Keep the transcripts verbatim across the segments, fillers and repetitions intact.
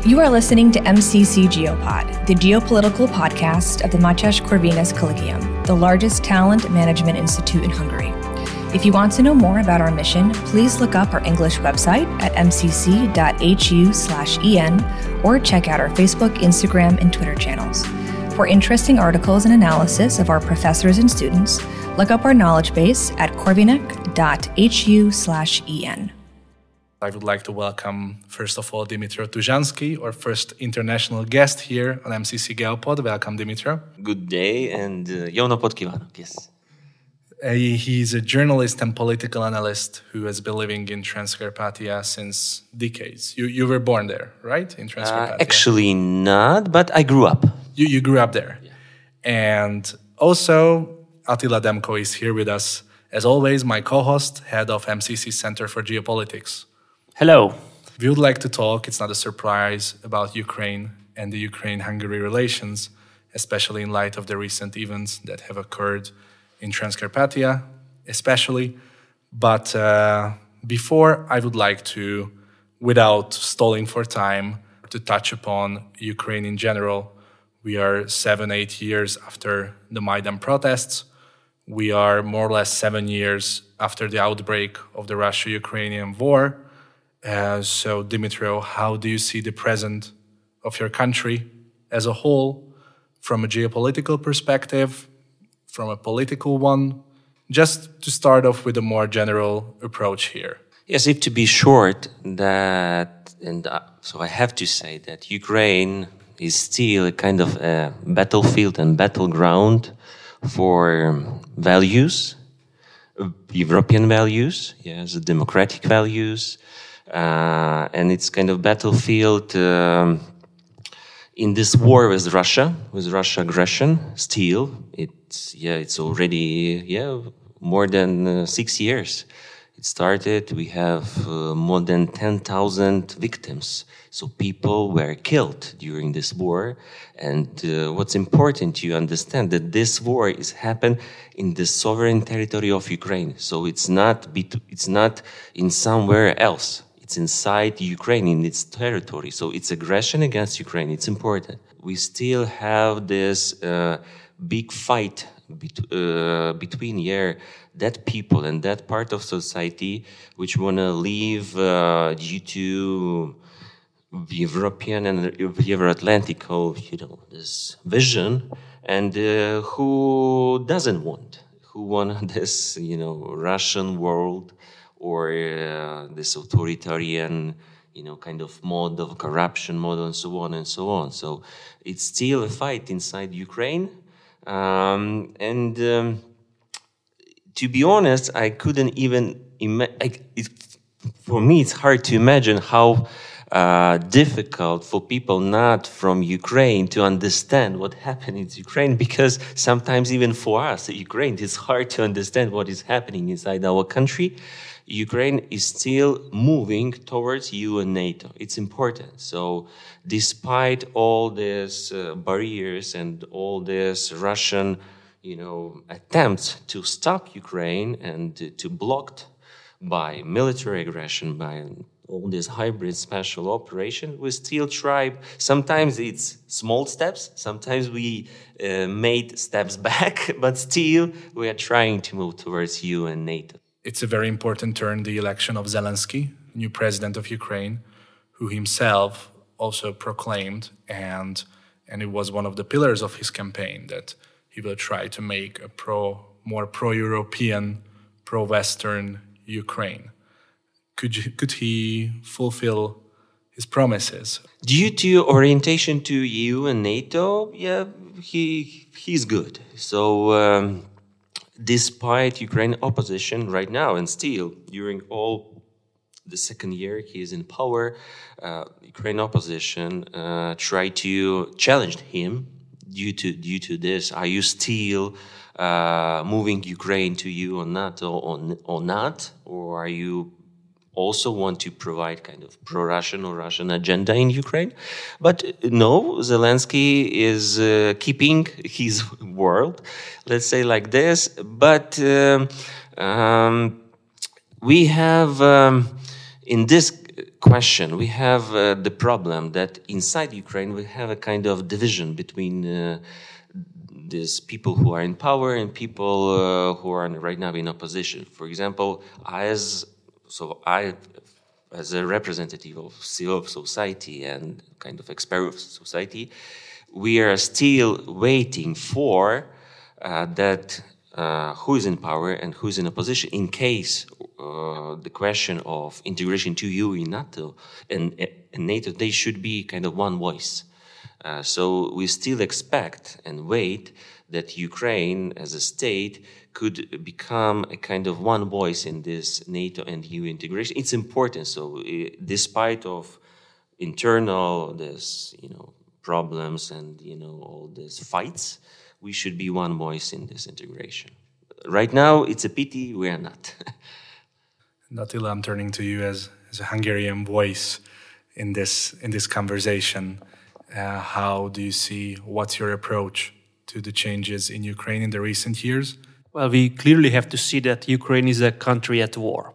You are listening to M C C Geopod, the geopolitical podcast of the Mátyás Corvinus Collegium, the largest talent management institute in Hungary. If you want to know more about our mission, please look up our English website at m c c dot h u slash e n or check out our Facebook, Instagram, and Twitter channels. For interesting articles and analysis of our professors and students, look up our knowledge base at corvinec dot h u slash e n. I would like to welcome, first of all, Dmytro Tuzhansky, our first international guest here on M C C Geopod. Welcome, Dmytro. Good day, and uh, jó napot kívánok, yes. Uh, he's a journalist and political analyst who has been living in Transcarpathia since decades. You you were born there, right? In Transcarpathia? Uh, actually not, but I grew up. You you grew up there. Yeah. And also, Attila Demko is here with us. As always, my co-host, head of M C C Center for Geopolitics. Hello. We would like to talk, it's not a surprise, about Ukraine and the Ukraine-Hungary relations, especially in light of the recent events that have occurred in Transcarpathia, especially. But uh, before, I would like to, without stalling for time, to touch upon Ukraine in general. We are seven, eight years after the Maidan protests. We are more or less seven years after the outbreak of the Russia-Ukrainian war. Uh, so, Dmytro, how do you see the present of your country as a whole, from a geopolitical perspective, from a political one? Just to start off with a more general approach here. Yes, if to be short, that, and uh, so I have to say that Ukraine is still a kind of a battlefield and battleground for values, European values, yes, democratic values, uh, and it's kind of battlefield um, in this war with Russia, with Russia aggression. Still, it's yeah, it's already yeah more than uh, six years. It started. We have uh, more than ten thousand victims. So people were killed during this war. And uh, what's important to understand that this war is happened in the sovereign territory of Ukraine. So it's not bet- it's not in somewhere else. It's inside Ukraine, in its territory. So it's aggression against Ukraine. It's important. We still have this uh, big fight bet- uh, between yeah, that people and that part of society which want to leave uh, due to European and Euro-Atlantic, you know, this vision, and uh, who doesn't want, who want this, you know, Russian world or uh, this authoritarian, you know, kind of mode of corruption model and so on and so on. So it's still a fight inside Ukraine, um, and um, to be honest, I couldn't even imagine. For me, it's hard to imagine how. Uh, difficult for people not from Ukraine to understand what happened in Ukraine, because sometimes even for us, Ukraine, it's hard to understand what is happening inside our country. Ukraine is still moving towards E U and NATO. It's important. So despite all these uh, barriers and all these Russian, you know, attempts to stop Ukraine and to, to block by military aggression, by all this hybrid special operation, we still try. Sometimes it's small steps, sometimes we uh, made steps back, but still we are trying to move towards E U and NATO. It's a very important turn, the election of Zelensky, new president of Ukraine, who himself also proclaimed, and and it was one of the pillars of his campaign, that he will try to make a pro, more pro-European, pro-Western Ukraine. Could you, could he fulfill his promises? Due to orientation to E U and NATO, yeah, he he's good. So um, despite Ukraine opposition right now, and still during all the second year he is in power, uh, Ukraine opposition uh, try to challenge him due to due to this. Are you still uh, moving Ukraine to E U or NATO or, or not, or are you also want to provide kind of pro-Russian or Russian agenda in Ukraine? But no, Zelensky is uh, keeping his word, let's say like this. But um, um, we have um, in this question, we have uh, the problem that inside Ukraine we have a kind of division between uh, these people who are in power and people uh, who are right now in opposition. For example, I as so I as a representative of civil society and kind of expert of society, we are still waiting for uh, that uh, who is in power and who is in opposition in case uh, the question of integration to E U in NATO and, and NATO, they should be kind of one voice. Uh, so we still expect and wait that Ukraine as a state could become a kind of one voice in this NATO and E U integration. It's important. So uh, despite of internal this, you know, problems and, you know, all these fights, we should be one voice in this integration. Right now, it's a pity we are not. Attila, I'm turning to you as, as a Hungarian voice in this in this conversation. Uh, how do you see, what's your approach to the changes in Ukraine in the recent years? Well, we clearly have to see that Ukraine is a country at war.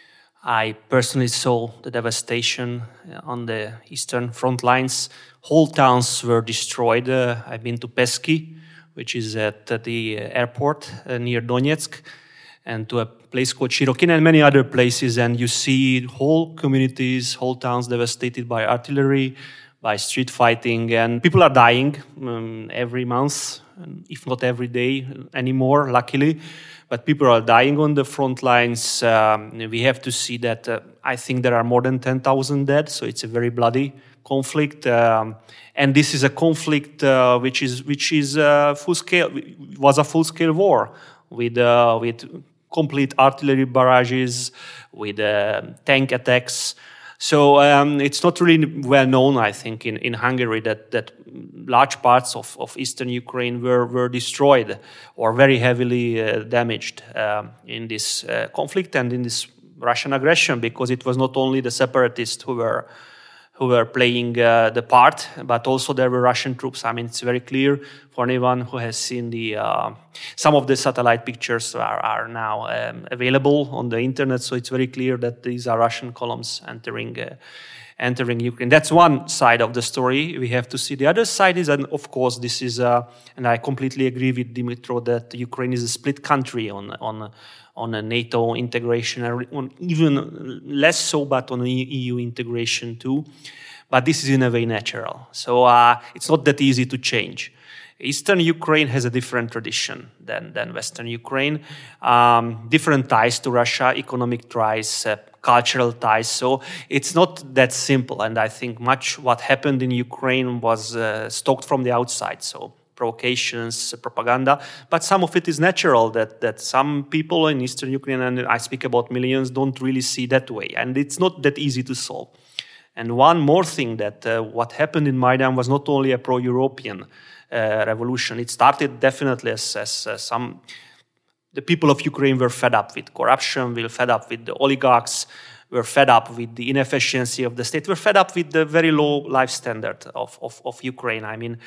I personally saw the devastation on the eastern front lines. Whole towns were destroyed. Uh, I've been to Pesky, which is at the airport uh, near Donetsk, and to a place called Shirokin and many other places. And you see whole communities, whole towns devastated by artillery, by street fighting, and people are dying um, every month, if not every day anymore, luckily. But people are dying on the front lines. Um, we have to see that uh, I think there are more than ten thousand dead, so it's a very bloody conflict. Um, and this is a conflict uh, which is which is uh, full scale was a full scale war with uh, with complete artillery barrages, with uh, tank attacks. So um, it's not really well known, I think, in, in Hungary that, that large parts of, of eastern Ukraine were, were destroyed or very heavily uh, damaged um, in this uh, conflict and in this Russian aggression, because it was not only the separatists who were who were playing uh, the part, but also there were Russian troops. I mean, it's very clear for anyone who has seen the uh, some of the satellite pictures are, are now um, available on the internet. So it's very clear that these are Russian columns entering uh, entering Ukraine. That's one side of the story. We have to see. The other side is, and of course, this is, uh, and I completely agree with Dimitro that Ukraine is a split country on on. on a NATO integration, on even less so, but on E U integration too. But this is in a way natural. So uh, it's not that easy to change. Eastern Ukraine has a different tradition than, than Western Ukraine. Um, different ties to Russia, economic ties, uh, cultural ties. So it's not that simple. And I think much what happened in Ukraine was uh, stoked from the outside. So provocations, propaganda, but some of it is natural that, that some people in Eastern Ukraine, and I speak about millions, don't really see that way. And it's not that easy to solve. And one more thing, that uh, what happened in Maidan was not only a pro-European uh, revolution. It started definitely as, as uh, some, the people of Ukraine were fed up with corruption, were fed up with the oligarchs, were fed up with the inefficiency of the state, were fed up with the very low life standard of, of, of Ukraine. I mean,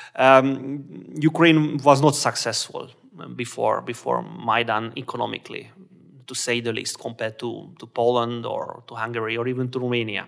um, Ukraine was not successful before before Maidan economically, to say the least, compared to, to Poland or to Hungary or even to Romania.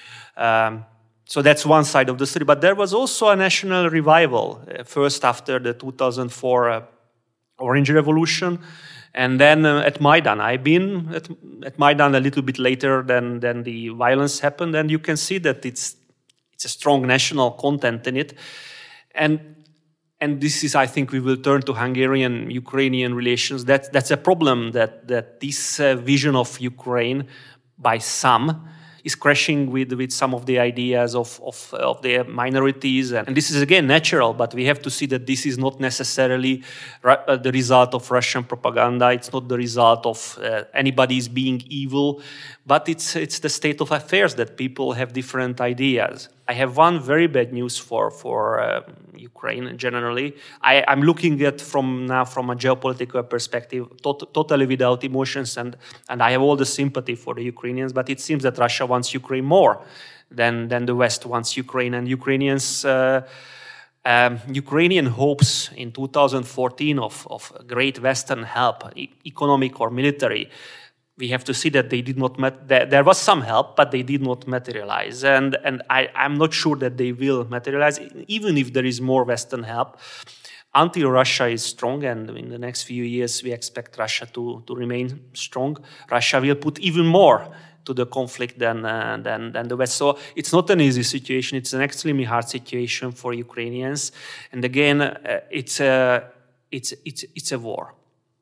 Um, so that's one side of the story. But there was also a national revival, uh, first after the two thousand four uh, Orange Revolution, and then uh, at Maidan. I've been at, at Maidan a little bit later than, than the violence happened, and you can see that it's it's a strong national content in it. And and this is, I think, we will turn to Hungarian-Ukrainian relations. That, that's a problem, that, that this uh, vision of Ukraine by some is crashing with, with some of the ideas of, of, of the minorities. And, and this is, again, natural, but we have to see that this is not necessarily uh, the result of Russian propaganda. It's not the result of uh, anybody's being evil, but it's, it's the state of affairs that people have different ideas. I have one very bad news for, for uh, Ukraine generally. I, I'm looking at from now from a geopolitical perspective, tot- totally without emotions, and, and I have all the sympathy for the Ukrainians, but it seems that Russia wants Ukraine more than, than the West wants Ukraine. And Ukrainians, uh, um, Ukrainian hopes in two thousand fourteen of, of great Western help, e- economic or military, we have to see that they did not mat- there, there was some help, but they did not materialize, and and I, I'm not sure that they will materialize, even if there is more Western help. Until Russia is strong, and in the next few years we expect Russia to, to remain strong, Russia will put even more to the conflict than, uh, than, than the West. So it's not an easy situation. It's an extremely hard situation for Ukrainians. And again, uh, it's, a, it's, it's, it's a war.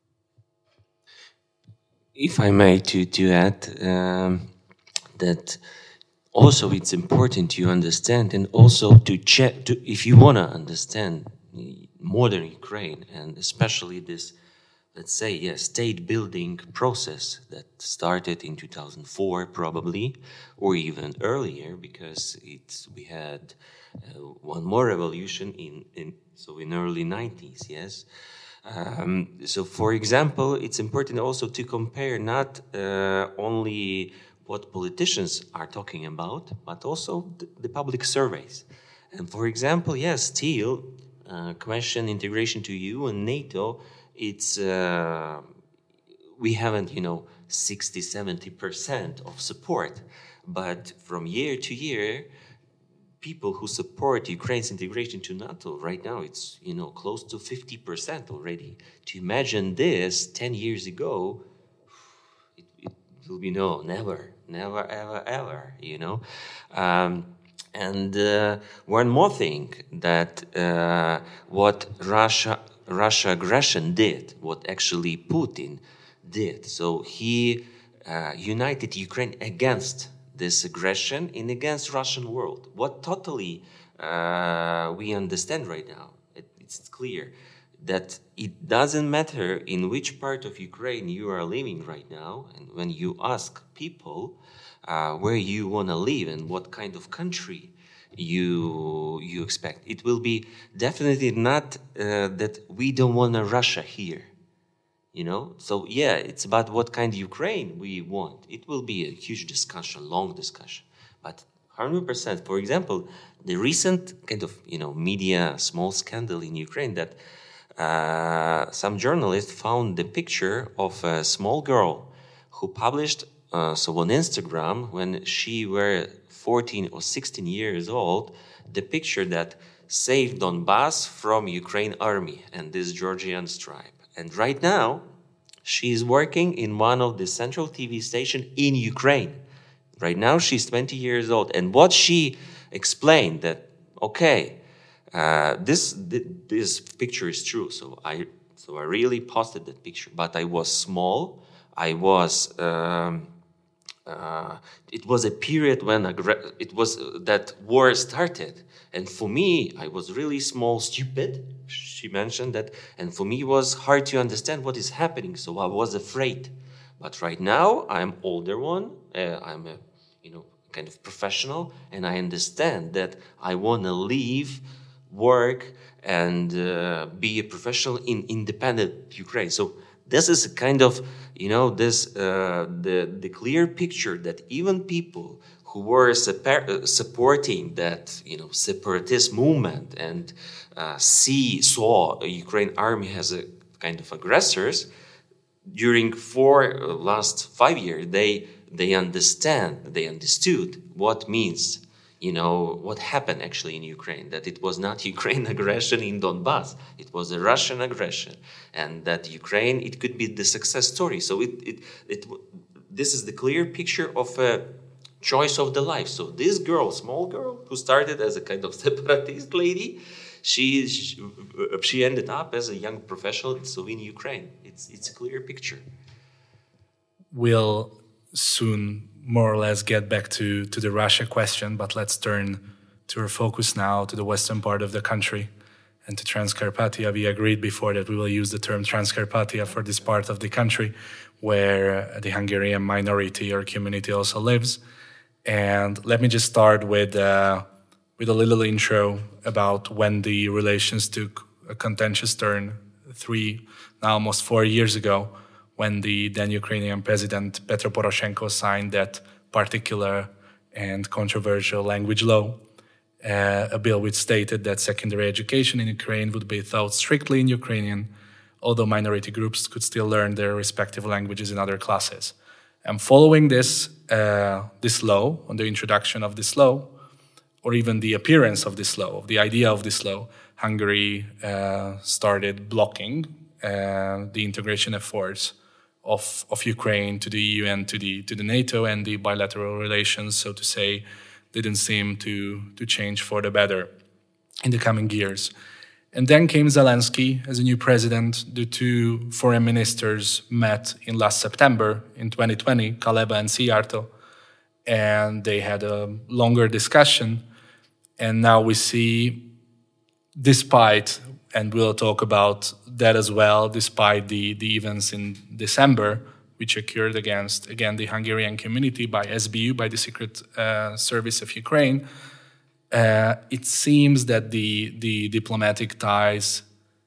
If I may to, to add um, that also it's important to understand, and also to check, to, if you want to understand modern Ukraine, and especially this, let's say, yeah, state-building process that started in two thousand four, probably, or even earlier, because it's we had uh, one more revolution in, in so in early nineties, yes. Um, so, for example, it's important also to compare not uh, only what politicians are talking about, but also the, the public surveys. And for example, yes, still. Uh, question integration to E U and NATO, it's uh, we haven't, you know, sixty, seventy percent of support, but from year to year, people who support Ukraine's integration to NATO right now, it's, you know, close to fifty percent already. To imagine this ten years ago, it, it will be no, never, never, ever, ever, you know. Um, And uh, one more thing, that uh, what Russia Russia aggression did, what actually Putin did. So he uh, united Ukraine against this aggression and against Russian world. What totally uh, we understand right now, it, it's clear that it doesn't matter in which part of Ukraine you are living right now, and when you ask people Uh, where you want to live and what kind of country you you expect. It will be definitely not uh, that we don't want a Russia here, you know. So yeah, it's about what kind of Ukraine we want. It will be a huge discussion, long discussion. But one hundred percent, for example, the recent kind of, you know, media small scandal in Ukraine that uh, some journalists found the picture of a small girl who published Uh, so on Instagram, when she were fourteen or sixteen years old, the picture that saved Donbass from Ukraine army and this Georgian tribe. And right now, she is working in one of the central T V station in Ukraine. Right now, she's twenty years old. And what she explained that, okay, uh, this, this picture is true. So I, so I really posted that picture, but I was small. I was, um, Uh, it was a period when it was uh, that war started, and for me, I was really small, stupid. She mentioned that, and for me, it was hard to understand what is happening. So I was afraid. But right now, I'm older one. Uh, I'm a, you know, kind of professional, and I understand that I want to leave, work, and uh, be a professional in independent Ukraine. So. This is a kind of, you know, this uh, the the clear picture that even people who were super, uh, supporting that, you know, separatist movement and uh, see saw a Ukraine army as a kind of aggressors during four uh, last five years, they they understand, they understood what means. You know, what happened actually in Ukraine, that it was not Ukraine aggression in Donbass, it was a Russian aggression, and that Ukraine, it could be the success story. So it, it, it, this is the clear picture of a choice of the life. So this girl, small girl, who started as a kind of separatist lady, she, she, she ended up as a young professional so in Ukraine. It's, it's a clear picture. We'll soon more or less get back to, to the Russia question, but let's turn to our focus now to the western part of the country and to Transcarpathia. We agreed before that we will use the term Transcarpathia for this part of the country where the Hungarian minority or community also lives. And let me just start with, uh, with a little intro about when the relations took a contentious turn three, now almost four years ago, when the then Ukrainian president Petro Poroshenko signed that particular and controversial language law, uh, a bill which stated that secondary education in Ukraine would be taught strictly in Ukrainian, although minority groups could still learn their respective languages in other classes. And following this, uh, this law, on the introduction of this law, or even the appearance of this law, of the idea of this law, Hungary uh, started blocking uh, the integration efforts of, of Ukraine to the E U and to the to the NATO, and the bilateral relations, so to say, didn't seem to to change for the better in the coming years. And then came Zelensky as a new president. The two foreign ministers met in last September in twenty twenty, Kaleba and Szijjártó, and they had a longer discussion. And now we see, despite, and we'll talk about that as well, despite the, the events in December, which occurred against, again, the Hungarian community by S B U, by the Secret uh, Service of Ukraine, uh, it seems that the, the diplomatic ties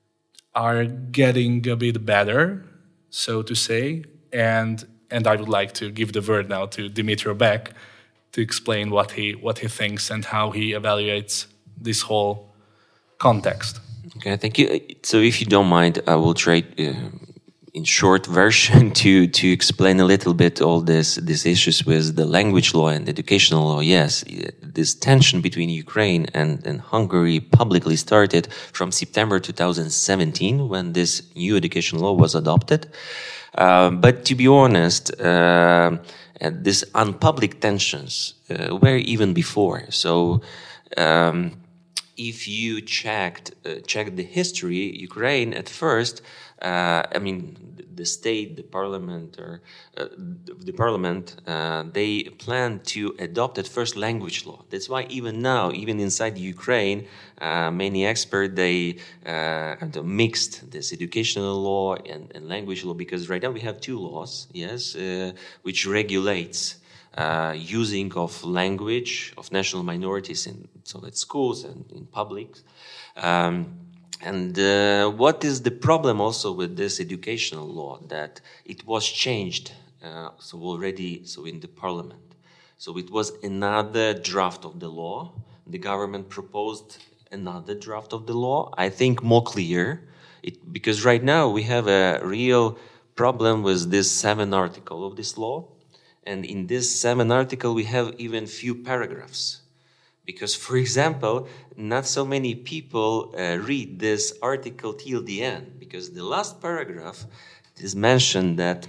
are getting a bit better, so to say. And and I would like to give the word now to Dimitro Beck to explain what he what he thinks and how he evaluates this whole context. Okay, thank you. So, if you don't mind, I will try, uh, in short version, to to explain a little bit all this these issues with the language law and educational law. Yes, this tension between Ukraine and, and Hungary publicly started from September two thousand seventeen, when this new education law was adopted. Uh, but to be honest, uh, these unpublic tensions uh, were even before. So. Um, If you checked uh, checked the history, Ukraine at first, uh, I mean, the state, the parliament, or uh, the parliament, uh, they planned to adopt at first language law. That's why even now, even inside Ukraine, uh, many experts they uh, kind of mixed this educational law and, and language law, because right now we have two laws, yes, uh, which regulates. Uh, using of language of national minorities in so at schools and in public. Um, and uh, what is the problem also with this educational law? That it was changed uh, so already so in the parliament. So it was another draft of the law. The government proposed another draft of the law, I think more clear, it, because right now we have a real problem with this seven article of this law. And in this seven article, we have even few paragraphs. Because, for example, not so many people uh, read this article till the end. Because the last paragraph is mentioned that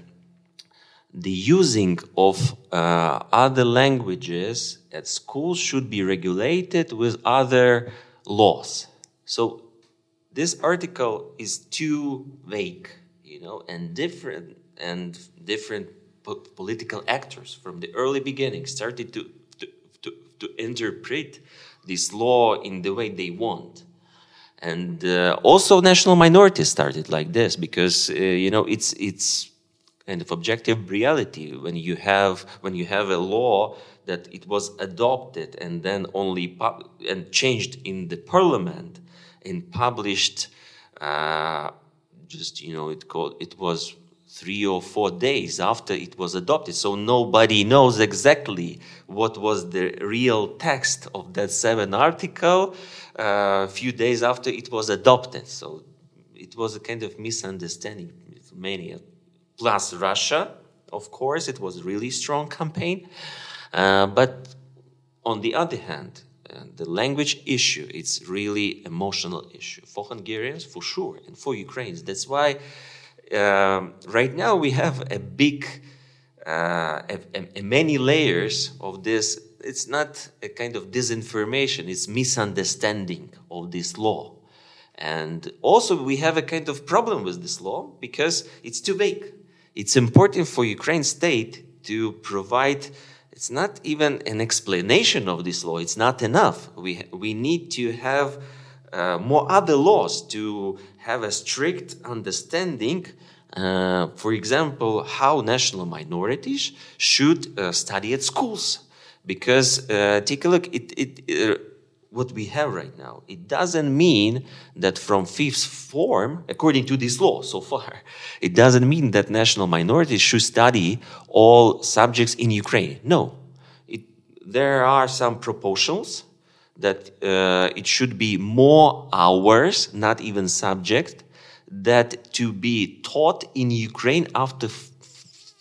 the using of uh, other languages at schools should be regulated with other laws. So this article is too vague, you know, and different and different political actors from the early beginning started to, to, to, to interpret this law in the way they want. And uh, also national minorities started like this, because, uh, you know, it's it's kind of objective reality when you have when you have a law that it was adopted and then only pub- and changed in the parliament and published uh, just, you know, it called it was three or four days after it was adopted. So nobody knows exactly what was the real text of that seven article a uh, few days after it was adopted. So it was a kind of misunderstanding for many. Plus Russia, of course, it was a really strong campaign. Uh, but on the other hand, uh, the language issue, it's really emotional issue for Hungarians, for sure, and for Ukrainians. That's why Um, right now we have a big, uh, a, a, a many layers of this. It's not a kind of disinformation, it's misunderstanding of this law. And also we have a kind of problem with this law because it's too vague. It's important for Ukraine state to provide, it's not even an explanation of this law, it's not enough. We, we need to have uh, more other laws to have a strict understanding, uh, for example, how national minorities should uh, study at schools. Because, uh, take a look, it, it, uh, what we have right now, it doesn't mean that from fifth form, according to this law so far, it doesn't mean that national minorities should study all subjects in Ukraine. No. It, there are some proportions that uh, it should be more hours, not even subject, that to be taught in Ukraine after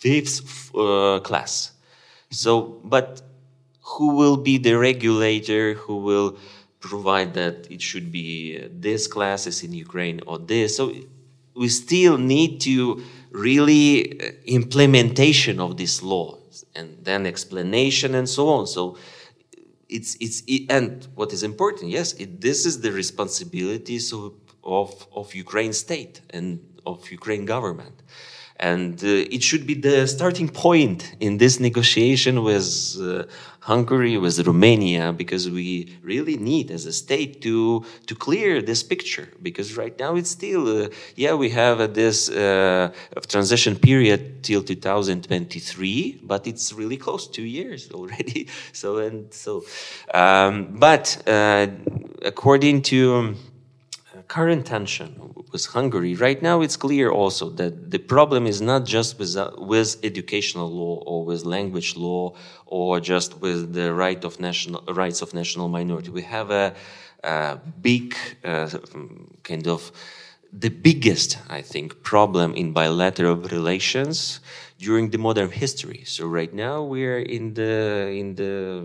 fifth uh, class. So, but who will be the regulator? Who will provide that it should be uh, this classes in Ukraine or this? So we still need to really uh, implementation of this law and then explanation and so on. So it's it's it, and what is important, yes, it, this is the responsibilities of, of of Ukraine state and of Ukraine government. And uh, it should be the starting point in this negotiation with uh, Hungary, with Romania, because we really need as a state to to clear this picture. Because right now it's still, uh, yeah, we have uh, this uh, transition period till two thousand twenty-three, but it's really close, two years already. So and so, um, but uh, according to um, current tension with Hungary, right now it's clear also that the problem is not just with, uh, with educational law or with language law or just with the right of national rights of national minority. We have a, a big uh, kind of the biggest, I think, problem in bilateral relations during the modern history. So right now we're in the in the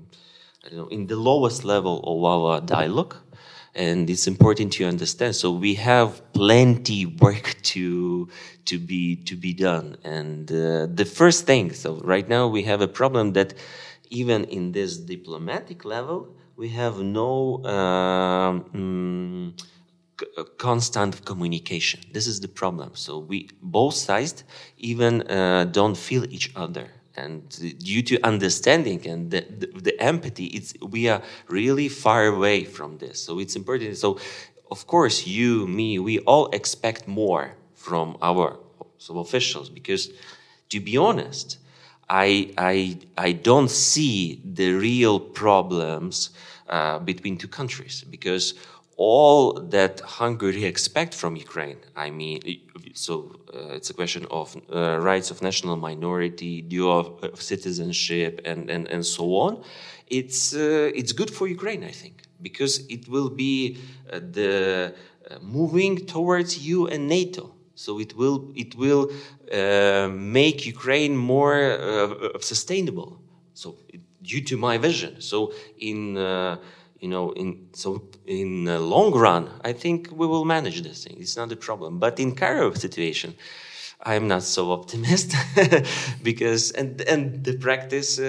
I don't know, in the lowest level of our dialogue. And it's important to understand. So we have plenty work to to be to be done. And uh, the first thing, so right now we have a problem that even in this diplomatic level, we have no um, mm, c- constant communication. This is the problem. So we both sides even uh, don't feel each other. And due to understanding and the, the, the empathy, it's, we are really far away from this. So it's important. So, of course, you, me, we all expect more from our so officials because, to be honest, I, I, I don't see the real problems uh, between two countries because all that Hungary expect from Ukraine, I mean, so uh, it's a question of uh, rights of national minority, dual citizenship, and, and, and so on. It's uh, it's good for Ukraine, I think, because it will be uh, the uh, moving towards E U and NATO. So it will it will uh, make Ukraine more uh, sustainable. So it, due to my vision. So in uh, You know, in so in the long run, I think we will manage this thing. It's not a problem. But in Kharkiv situation, I'm not so optimistic because and and the practice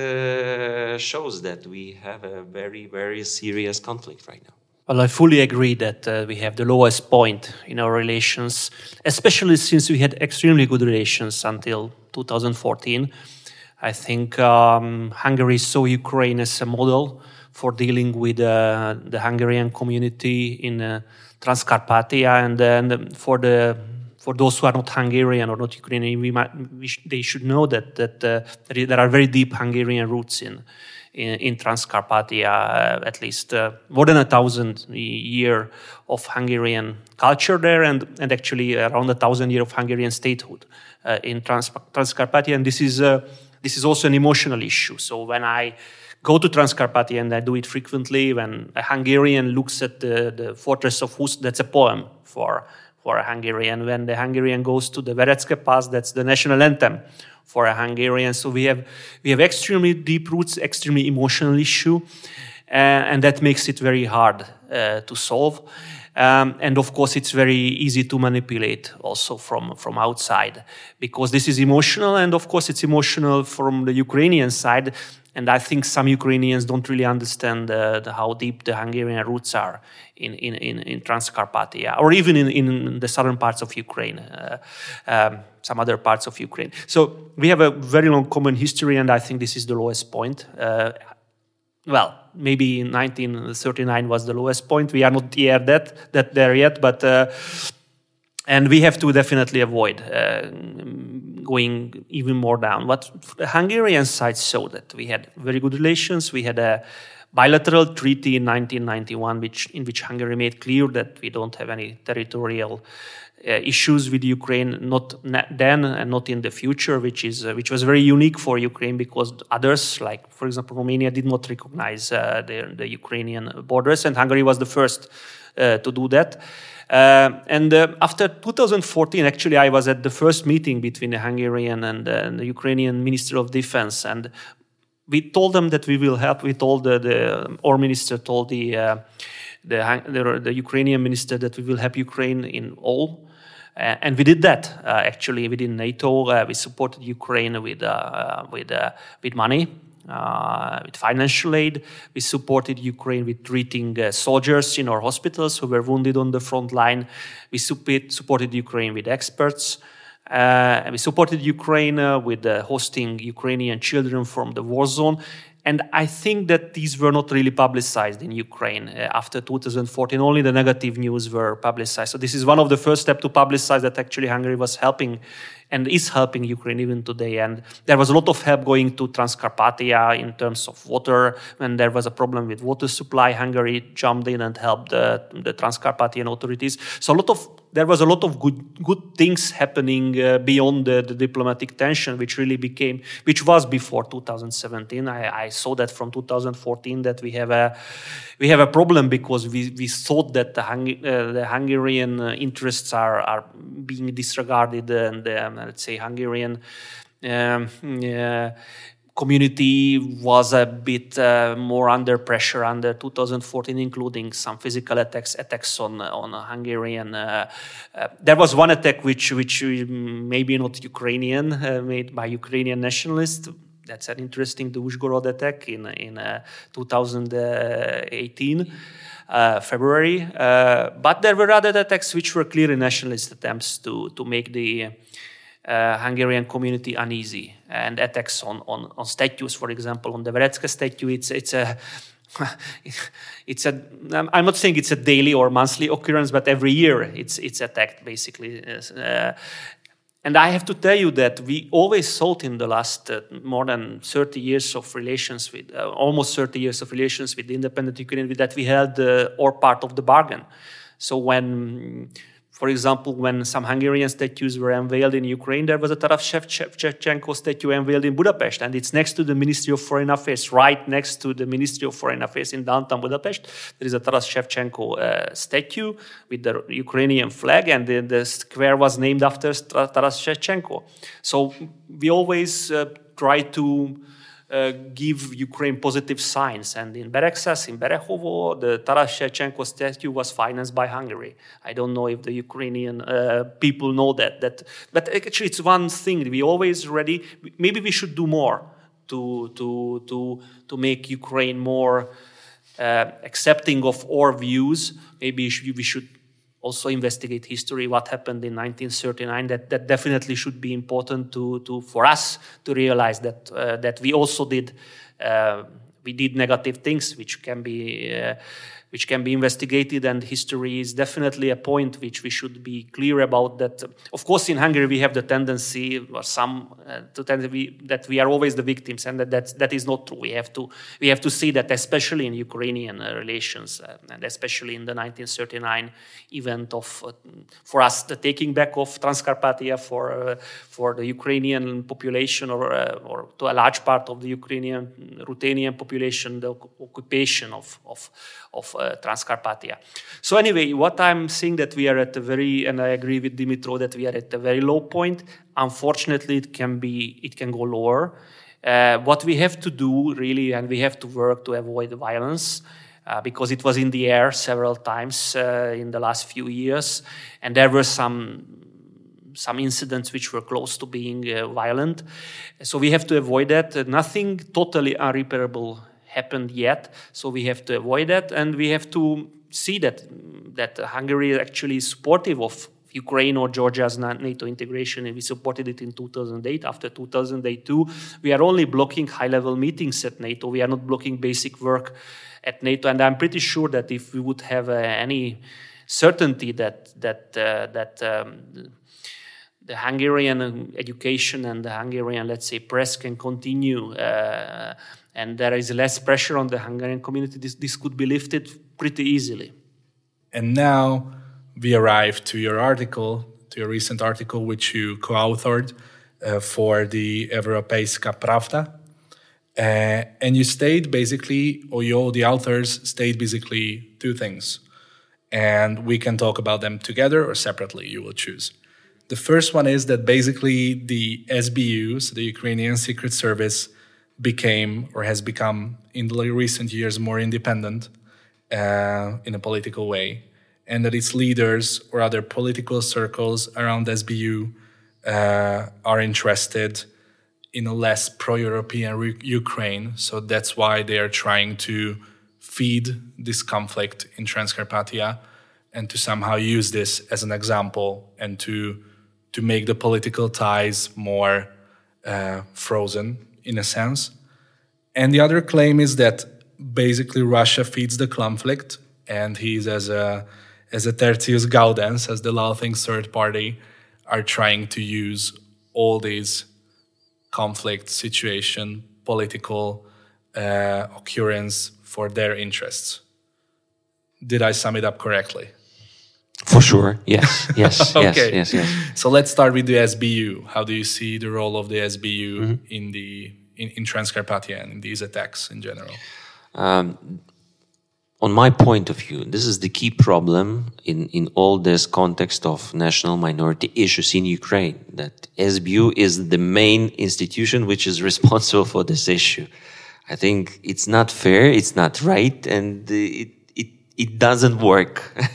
uh, shows that we have a very very serious conflict right now. Well, I fully agree that uh, we have the lowest point in our relations, especially since we had extremely good relations until two thousand fourteen. I think um, Hungary saw Ukraine as a model for dealing with uh, the Hungarian community in uh, Transcarpathia, and then for the for those who are not Hungarian or not Ukrainian, we might, we sh- they should know that that uh, there are very deep Hungarian roots in in, in Transcarpathia. Uh, at least uh, more than a thousand year of Hungarian culture there, and and actually around a thousand year of Hungarian statehood uh, in Trans- Transcarpathia, and this is uh, this is also an emotional issue. So when I go to Transcarpathia, and I do it frequently, when a Hungarian looks at the, the fortress of Hus, that's a poem for, for a Hungarian. When the Hungarian goes to the Verecke Pass, that's the national anthem for a Hungarian. So we have we have extremely deep roots, extremely emotional issue, uh, and that makes it very hard uh, to solve. Um, and of course, it's very easy to manipulate also from, from outside, because this is emotional, and of course, it's emotional from the Ukrainian side. And I think some Ukrainians don't really understand uh, the, how deep the Hungarian roots are in, in, in, in Transcarpathia, or even in, in the southern parts of Ukraine, uh, um, some other parts of Ukraine. So we have a very long common history, and I think this is the lowest point. Uh, well, maybe nineteen thirty-nine was the lowest point. We are not yet that, that there yet, but... Uh, And we have to definitely avoid uh, going even more down. But the Hungarian side saw that we had very good relations. We had a bilateral treaty in nineteen ninety-one, which in which Hungary made clear that we don't have any territorial uh, issues with Ukraine, not then and not in the future, which is uh, which was very unique for Ukraine, because others, like for example Romania, did not recognize uh, the, the Ukrainian borders, and Hungary was the first uh, to do that. Uh, and uh, after two thousand fourteen, actually, I was at the first meeting between the Hungarian and, uh, and the Ukrainian Minister of Defense, and we told them that we will help. We told the, the our minister told the, uh, the the the Ukrainian minister that we will help Ukraine in all. Uh, and we did that uh, actually within NATO. Uh, we supported Ukraine with uh, with uh, with money, uh, with financial aid. We supported Ukraine with treating uh, soldiers in our hospitals who were wounded on the front line. We support, supported Ukraine with experts. Uh, and we supported Ukraine uh, with uh, hosting Ukrainian children from the war zone. And I think that these were not really publicized in Ukraine uh, after two thousand fourteen. Only the negative news were publicized. So this is one of the first steps to publicize that actually Hungary was helping and is helping Ukraine even today. And there was a lot of help going to Transcarpathia in terms of water. When there was a problem with water supply, Hungary jumped in and helped the, the Transcarpathian authorities. So a lot of there was a lot of good good things happening uh, beyond the, the diplomatic tension, which really became, which was before two thousand seventeen. I, I saw that from two thousand fourteen that we have a we have a problem because we, we thought that the, Hung, uh, the Hungarian uh, interests are are being disregarded, and um, let's say Hungarian um, uh, community was a bit uh, more under pressure under two thousand fourteen, including some physical attacks attacks on on Hungarian. Uh, uh, there was one attack which which maybe not Ukrainian, uh, made by Ukrainian nationalists. That's an interesting, the Uzhgorod attack in in uh, two thousand eighteen. Uh, February, uh, but there were other attacks which were clearly nationalist attempts to to make the uh, Hungarian community uneasy, and attacks on, on, on statues, for example, on the Verecka statue. It's it's a it's a I'm not saying it's a daily or monthly occurrence, but every year it's it's attacked basically. Uh, And I have to tell you that we always thought in the last uh, more than thirty years of relations with, uh, almost thirty years of relations with the independent Ukraine, that we held uh, our part of the bargain. So when, for example, when some Hungarian statues were unveiled in Ukraine, there was a Taras Shevchenko statue unveiled in Budapest, and it's next to the Ministry of Foreign Affairs, right next to the Ministry of Foreign Affairs in downtown Budapest. There is a Taras Shevchenko uh, statue with the Ukrainian flag, and the, the square was named after Taras Shevchenko. So we always uh, try to Uh, give Ukraine positive signs. And in Bereksas, in Berehovo, the Taras Shevchenko statue was financed by Hungary. I don't know if the Ukrainian uh, people know that. That, but actually, it's one thing. We always ready. Maybe we should do more to to to to make Ukraine more uh, accepting of our views. Maybe we should also investigate history, what happened in nineteen thirty-nine. That that definitely should be important to to for us to realize that uh, that we also did uh, we did negative things which can be uh, which can be investigated, and history is definitely a point which we should be clear about. That of course in Hungary we have the tendency, or some uh, to tend to be, that we are always the victims, and that that's, that is not true. We have to we have to see that, especially in Ukrainian uh, relations, uh, and especially in the nineteen thirty-nine event of uh, for us the taking back of Transcarpathia for uh, for the Ukrainian population, or uh, or to a large part of the Ukrainian Ruthenian population, the occupation of of of uh, Transcarpathia. So anyway, what I'm saying, that we are at a very, and I agree with Dimitro that we are at a very low point. Unfortunately, it can be, it can go lower. Uh, what we have to do really, and we have to work to avoid violence, uh, because it was in the air several times uh, in the last few years, and there were some some incidents which were close to being uh, violent. So we have to avoid that. Uh, nothing totally unrepairable happened yet, so we have to avoid that, and we have to see that that Hungary is actually supportive of Ukraine or Georgia's NATO integration, and we supported it in two thousand eight. After two thousand eight too, we are only blocking high-level meetings at NATO. We are not blocking basic work at NATO, and I'm pretty sure that if we would have uh, any certainty that that uh, that um, the Hungarian education and the Hungarian, let's say, press can continue, uh, and there is less pressure on the Hungarian community, this, this could be lifted pretty easily. And now we arrive to your article, to your recent article, which you co-authored uh, for the Europejska Prawda. Uh, and you state basically, or you, the authors state basically two things. And we can talk about them together or separately, you will choose. The first one is that basically the S B U, so the Ukrainian Secret Service, became or has become in the recent years more independent uh, in a political way, and that its leaders or other political circles around S B U uh, are interested in a less pro-European re- Ukraine. So that's why they are trying to feed this conflict in Transcarpathia and to somehow use this as an example and to to make the political ties more uh, frozen in a sense. And the other claim is that basically Russia feeds the conflict, and he's as a as a tertius gaudens, as the Laughing Third Party, are trying to use all these conflict situation, political uh, occurrence for their interests. Did I sum it up correctly? For sure, yes, yes, okay. yes, yes, yes. So let's start with the S B U. How do you see the role of the S B U mm-hmm. in the in, in Transcarpathia and in these attacks in general? Um, on my point of view, this is the key problem in, in all this context of national minority issues in Ukraine, that S B U is the main institution which is responsible for this issue. I think it's not fair, it's not right, and it It doesn't work.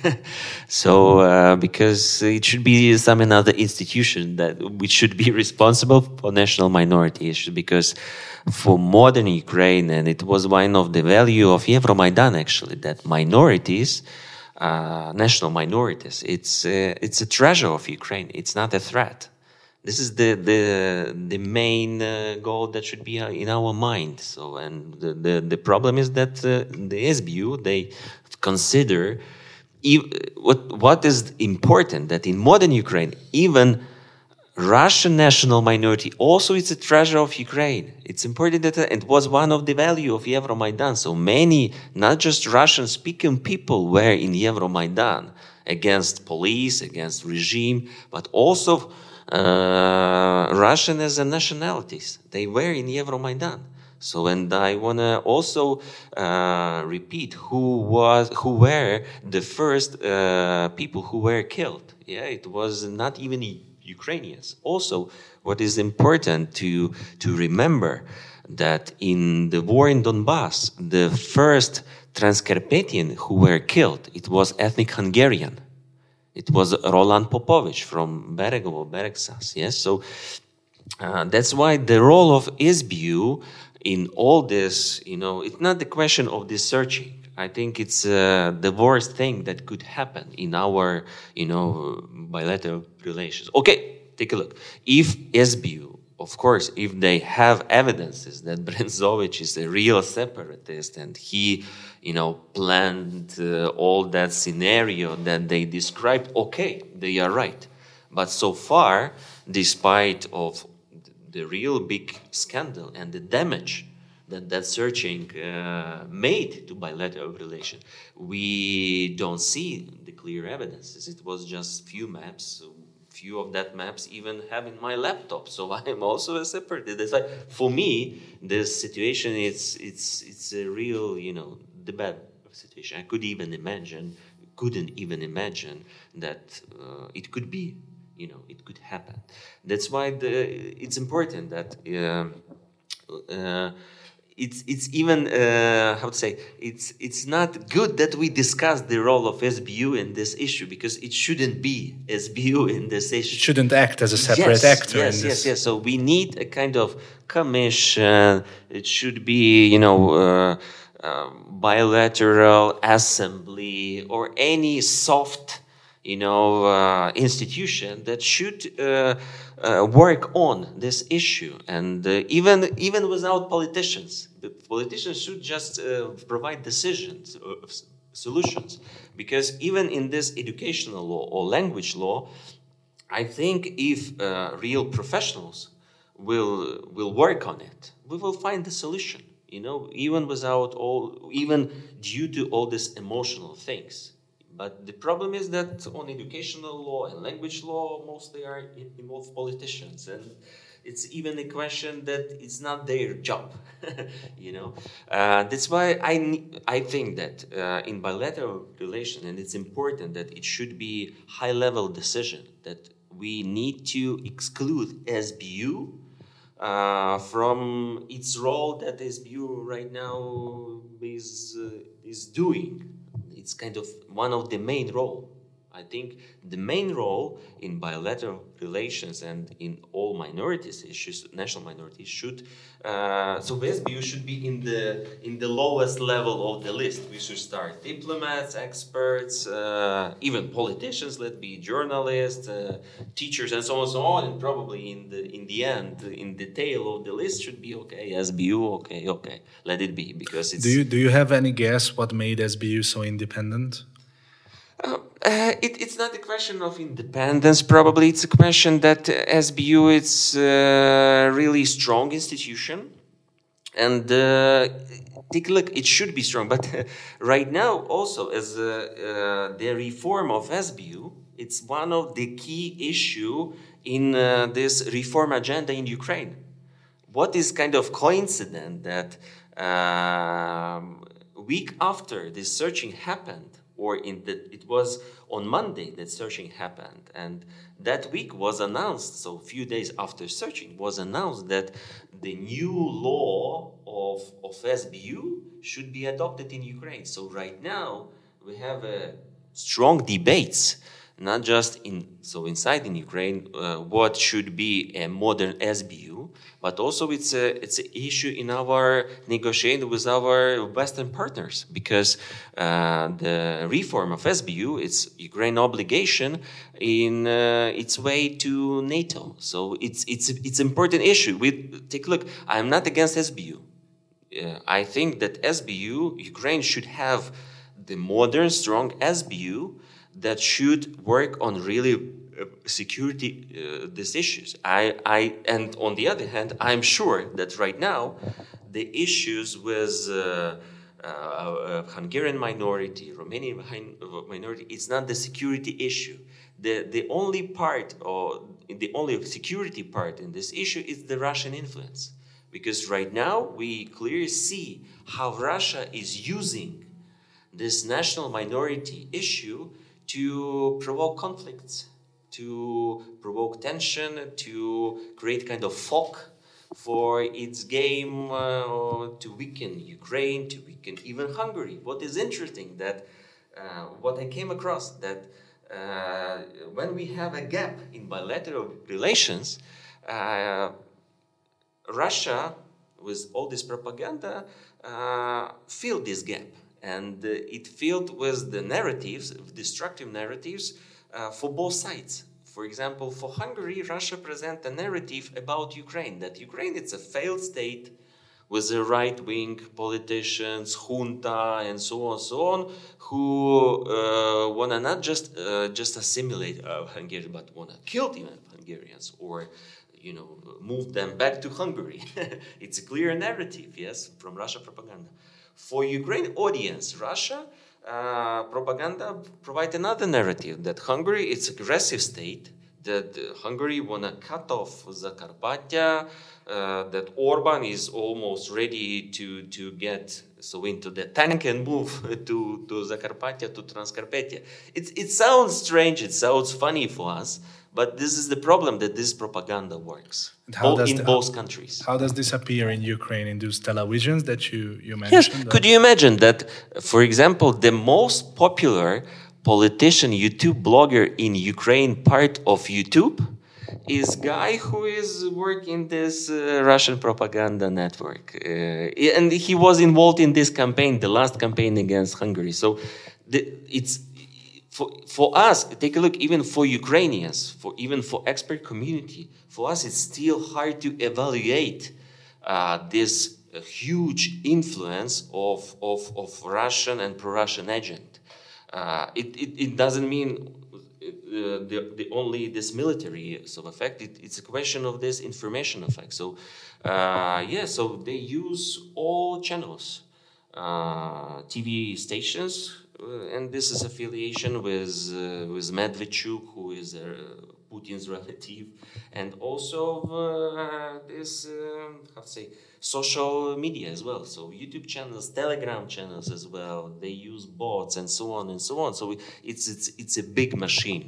So, uh, because it should be some another institution that which should be responsible for national minority issues. Because for modern Ukraine, and it was one of the value of Euromaidan actually, that minorities, uh, national minorities, it's uh, it's a treasure of Ukraine. It's not a threat. This is the the the main uh, goal that should be in our mind. So, and the the, the problem is that uh, the S B U, they consider ev- what what is important, that in modern Ukraine, even Russian national minority also is a treasure of Ukraine. It's important that it was one of the value of Euromaidan. So many, not just Russian-speaking people, were in Euromaidan against police, against regime, but also uh, Russian as a nationalities. They were in Euromaidan. So, and I want to also uh, repeat who was, who were the first uh, people who were killed. Yeah, it was not even Ukrainians. Also, what is important to to remember that in the war in Donbass, the first Transcarpathian who were killed, it was ethnic Hungarian. It was Roland Popovich from Beregovo, Beregsas. Yes, so uh, that's why the role of S B U in all this, you know, it's not the question of the searching. I think it's uh, the worst thing that could happen in our, you know, bilateral relations. Okay, take a look. If S B U, of course, if they have evidences that Brenzovich is a real separatist and he, you know, planned uh, all that scenario that they described, okay, they are right. But so far, despite of the real big scandal and the damage that that searching uh, made to bilateral relations, we don't see the clear evidences. It was just few maps. Few of that maps even have in my laptop. So I am also a separatist. It's like, for me, this situation it's it's it's a real, you know, the bad situation. I could even imagine, couldn't even imagine that uh, it could be. You know, it could happen. That's why the, it's important that uh, uh, it's it's even uh, how to say it's it's not good that we discuss the role of S B U in this issue, because it shouldn't be S B U in this issue. It shouldn't act as a separate yes, actor. Yes, in this. yes, yes. So we need a kind of commission. It should be, you know. Uh, uh, bilateral assembly or any soft you know, uh, institution that should uh, uh, work on this issue, and uh, even even without politicians, the politicians should just uh, provide decisions, uh, solutions, because even in this educational law or language law, I think if uh, real professionals will will work on it, we will find the solution. You know, even without all, even due to all these emotional things. But the problem is that on educational law and language law, mostly are involved politicians. And it's even a question that it's not their job, you know. Uh, that's why I I think that uh, in bilateral relations, and it's important that it should be high-level decision that we need to exclude S B U uh, from its role that S B U right now is uh, is doing. It's kind of one of the main role. I think the main role in bilateral relations and in all minorities issues, national minorities, should uh, so S B U should be in the in the lowest level of the list. We should start diplomats, experts, uh, even politicians. Let be journalists, uh, teachers, and so on and so on. And probably in the in the end, in the tail of the list, should be okay. S B U, okay, okay, let it be because it's. Do you do you have any guess what made S B U so independent? Uh, uh, it, it's not a question of independence, probably. It's a question that uh, S B U is a really strong institution. And uh, take a look, it should be strong. But uh, right now, also, as uh, uh, the reform of S B U, it's one of the key issue in uh, this reform agenda in Ukraine. What is kind of coincident that um, a week after this searching happened, or in the, it was on Monday that searching happened, and that week was announced, so a few days after searching, was announced that the new law of, of S B U should be adopted in Ukraine. So right now, we have a strong debates, not just in, so inside in Ukraine, uh, what should be a modern S B U, but also it's a it's an issue in our negotiation with our Western partners, because uh, the reform of S B U, it's Ukraine obligation in uh, its way to NATO. So it's it's it's an important issue. We take a look. I'm not against S B U. Uh, I think that S B U, Ukraine should have the modern, strong S B U that should work on really uh, security uh, these issues. I, I, and on the other hand, I'm sure that right now the issues with uh, uh, uh, Hungarian minority, Romanian minority, it's not the security issue. The the only part, or the only security part in this issue is the Russian influence, because right now we clearly see how Russia is using this national minority issue to provoke conflicts, to provoke tension, to create kind of fog for its game, uh, to weaken Ukraine, to weaken even Hungary. What is interesting that uh, what I came across that uh, when we have a gap in bilateral relations, uh, Russia, with all this propaganda, uh, filled this gap. And uh, it filled with the narratives, destructive narratives, uh, for both sides. For example, for Hungary, Russia presents a narrative about Ukraine, that Ukraine is a failed state with the right-wing politicians, junta, and so on and so on, who uh, want to not just uh, just assimilate uh, Hungary, but want to kill even Hungarians, or you know, move them back to Hungary. It's a clear narrative, yes, from Russia propaganda. For Ukraine audience, Russia uh, propaganda provide another narrative that Hungary is an aggressive state, that uh, Hungary want to cut off Zakarpattia, uh, that Orban is almost ready to, to get so into the tank and move to, to Zakarpattia, to Transcarpathia. It, it sounds strange, it sounds funny for us, but this is the problem, that this propaganda works bo- in the, both how, countries. How does this appear in Ukraine, in those televisions that you, you mentioned? Yes. Could you imagine that, for example, the most popular politician, YouTube blogger in Ukraine, part of YouTube, is guy who is working this uh, Russian propaganda network. Uh, and he was involved in this campaign, the last campaign against Hungary. So the, it's... For, for us, take a look, even for Ukrainians, for even for expert community, for us it's still hard to evaluate uh, this uh, huge influence of, of, of Russian and pro-Russian agent. Uh, it, it, it doesn't mean uh, the, the only this military sort of effect, it, it's a question of this information effect. So, uh, yeah, so they use all channels. uh, T V stations, uh, and this is affiliation with uh, with Medvedchuk, who is uh, Putin's relative, and also uh, this uh, how to say social media as well. So YouTube channels, Telegram channels as well. They use bots and so on and so on. So it's it's it's a big machine.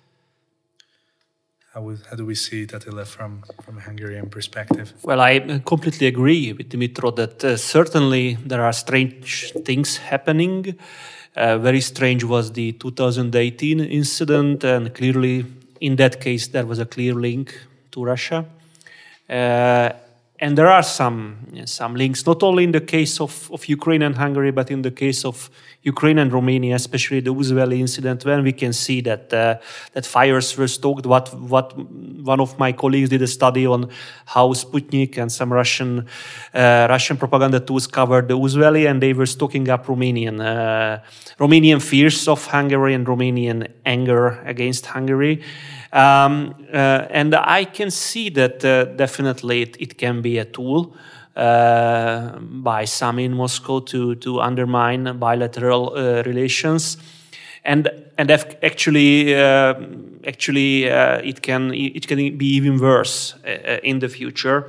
How, we, how do we see it, Attila, from, from a Hungarian perspective? Well, I completely agree with Dimitro that uh, certainly there are strange things happening. Uh, very strange was the two thousand eighteen incident, and clearly in that case there was a clear link to Russia. Uh, and there are some some links, not only in the case of, of Ukraine and Hungary, but in the case of Ukraine and Romania, especially the Uzveli incident, when we can see that uh, that fires were stoked. What what one of my colleagues did a study on how Sputnik and some Russian uh, Russian propaganda tools covered the Uzveli, and they were stoking up Romanian uh, Romanian fears of Hungary and Romanian anger against Hungary. Um, uh, and I can see that uh, definitely it, it can be a tool uh, by some in Moscow to to undermine bilateral uh, relations, and and actually uh, actually uh, it can it can be even worse uh, in the future.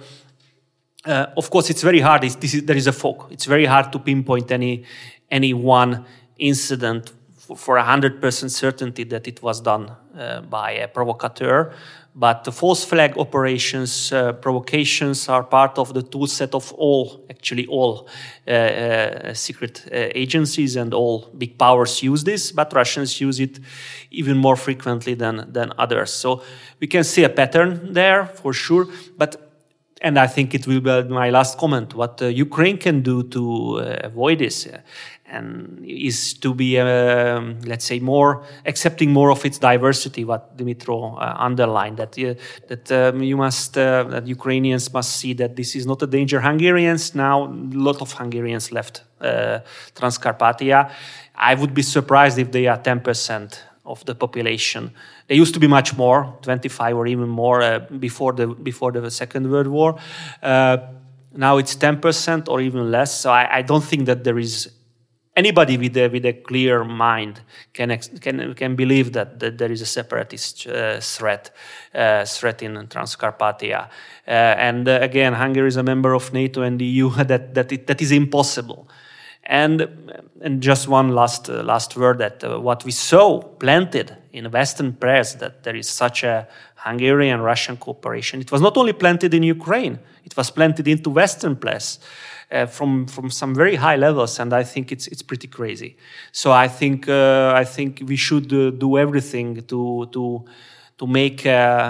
Uh, of course, it's very hard. It's, this is, there is a fog. It's very hard to pinpoint any any one incident for a hundred percent certainty that it was done uh, by a provocateur. But the false flag operations, uh, provocations are part of the tool set of all, actually all uh, uh, secret uh, agencies, and all big powers use this, but Russians use it even more frequently than, than others. So we can see a pattern there for sure, but and I think it will be my last comment. What uh, Ukraine can do to uh, avoid this uh, and is to be, uh, let's say, more accepting more of its diversity. What Dimitro uh, underlined, that uh, that um, you must, uh, that Ukrainians must see that this is not a danger. Hungarians now, a lot of Hungarians left uh, Transcarpathia. I would be surprised if they are ten percent of the population. They used to be much more, twenty-five or even more uh, before the before the Second World War. Uh, now it's ten percent or even less. So I, I don't think that there is anybody with a with a clear mind can ex- can can believe that, that there is a separatist uh, threat uh, threat in Transcarpathia. Uh, and uh, again, Hungary is a member of NATO and the E U. that that it, that is impossible. And and just one last uh, last word, that uh, what we saw planted in Western press, that there is such a Hungarian-Russian cooperation. It was not only planted in Ukraine; it was planted into Western press uh, from from some very high levels, and I think it's it's pretty crazy. So I think uh, I think we should uh, do everything to to to make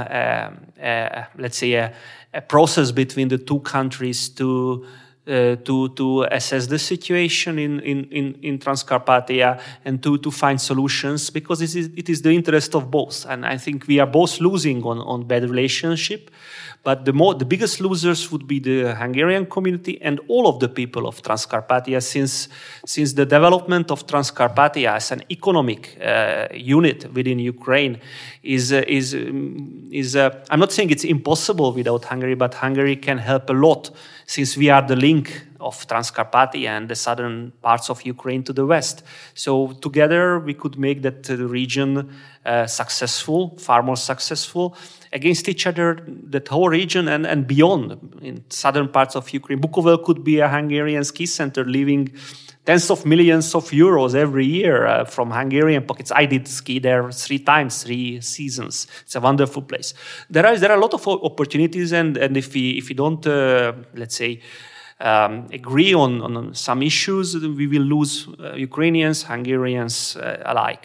a, a, a, let's say a, a process between the two countries to. Uh, to to assess the situation in in in, in Transcarpathia and to to find solutions, because it is it is the interest of both, and I think we are both losing on on bad relationship, but the more the biggest losers would be the Hungarian community and all of the people of Transcarpathia, since since the development of Transcarpathia as an economic uh, unit within Ukraine is uh, is um, is uh, I'm not saying it's impossible without Hungary, but Hungary can help a lot, since we are the link of Transcarpathia and the southern parts of Ukraine to the west. So together we could make that uh, region uh, successful, far more successful, against each other, that whole region and, and beyond, in southern parts of Ukraine. Bukovel could be a Hungarian ski center, leaving tens of millions of euros every year uh, from Hungarian pockets. I did ski there three times, three seasons. It's a wonderful place. There are there are a lot of opportunities, and, and if we if we don't uh, let's say um, agree on, on some issues, we will lose uh, Ukrainians, Hungarians uh, alike.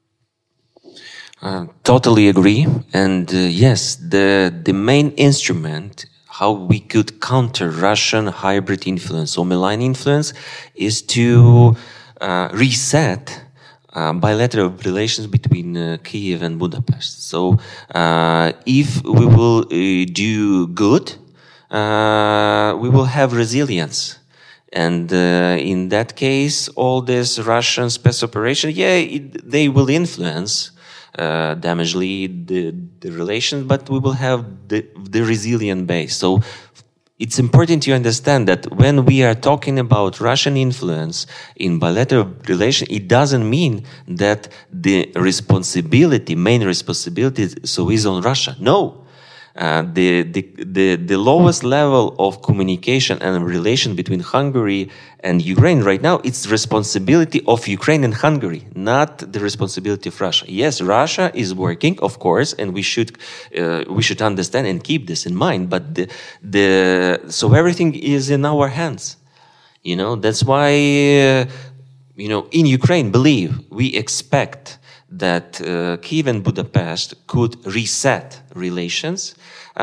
Uh, totally agree, and uh, yes, the the main instrument how we could counter Russian hybrid influence or malign influence is to uh, reset uh, bilateral relations between uh, Kyiv and Budapest. So uh, if we will uh, do good, uh, we will have resilience. And uh, in that case, all this Russian space operation, yeah, it, they will influence Uh, damagely the, the relations, but we will have the, the resilient base. So it's important to understand that when we are talking about Russian influence in bilateral relations, it doesn't mean that the responsibility, main responsibility, so is on Russia. No. Uh, the, the the the lowest level of communication and relation between Hungary and Ukraine right now, it's the responsibility of Ukraine and Hungary, not the responsibility of Russia. Yes, Russia is working, of course, and we should uh, we should understand and keep this in mind. But the the so everything is in our hands. You know, that's why uh, you know in Ukraine, believe we expect that uh, Kyiv and Budapest could reset relations.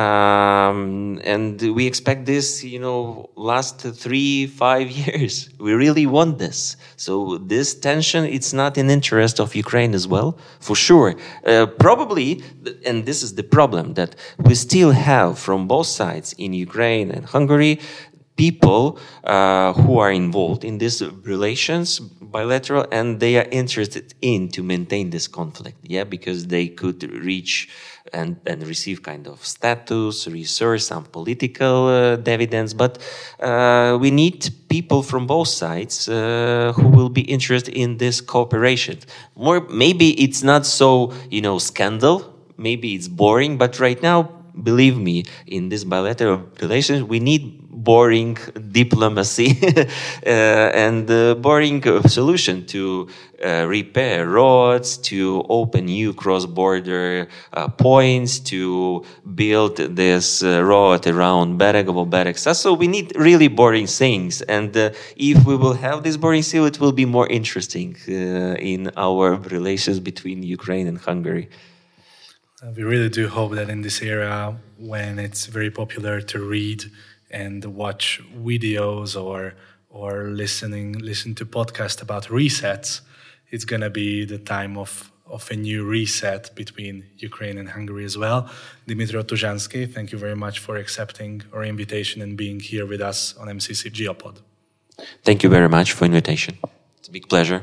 Um, and we expect this, you know, last three, five years. We really want this. So this tension, it's not in interest of Ukraine as well, for sure. Uh, probably, and this is the problem, that we still have from both sides in Ukraine and Hungary, people uh, who are involved in these relations, bilateral, and they are interested in to maintain this conflict, yeah, because they could reach and, and receive kind of status, resource, some political uh, dividends, but uh, we need people from both sides uh, who will be interested in this cooperation. More, maybe it's not so, you know, scandal, maybe it's boring, but right now, believe me, in this bilateral relations, we need boring diplomacy uh, and uh, boring solution to uh, repair roads, to open new cross-border uh, points, to build this uh, road around Beregovo, Beregsa. So we need really boring things. And uh, if we will have this boring thing, it will be more interesting uh, in our relations between Ukraine and Hungary. Uh, we really do hope that in this era, when it's very popular to read and watch videos or or listening listen to podcasts about resets, it's going to be the time of, of a new reset between Ukraine and Hungary as well. Dmytro Tuzhansky, thank you very much for accepting our invitation and being here with us on M C C GeoPod. Thank you very much for invitation. It's a big pleasure.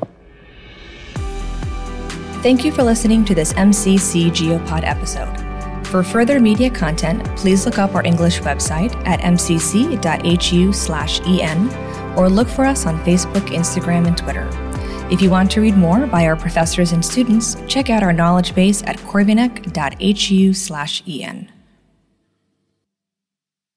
Thank you for listening to this M C C GeoPod episode. For further media content, please look up our English website at m c c dot h u slash e n or look for us on Facebook, Instagram, and Twitter. If you want to read more by our professors and students, check out our knowledge base at corvinek dot h u slash e n.